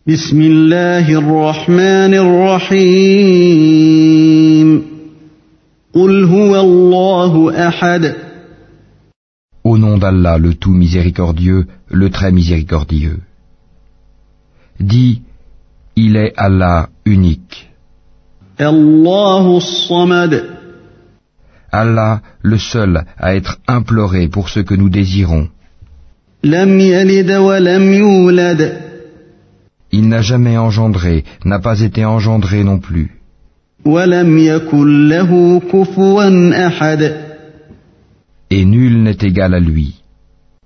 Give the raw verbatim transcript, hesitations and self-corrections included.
بسم الله الرحمن الرحيم قل هو الله أحد Au nom d'Allah, le tout miséricordieux, le très miséricordieux. Dis, il est Allah unique. الله الصمد Allah, le seul à être imploré pour ce que nous désirons. لم يلد ولم يولد Il n'a jamais engendré, n'a pas été engendré non plus. ولم يكن له كفوا أحد Et nul n'est égal à lui.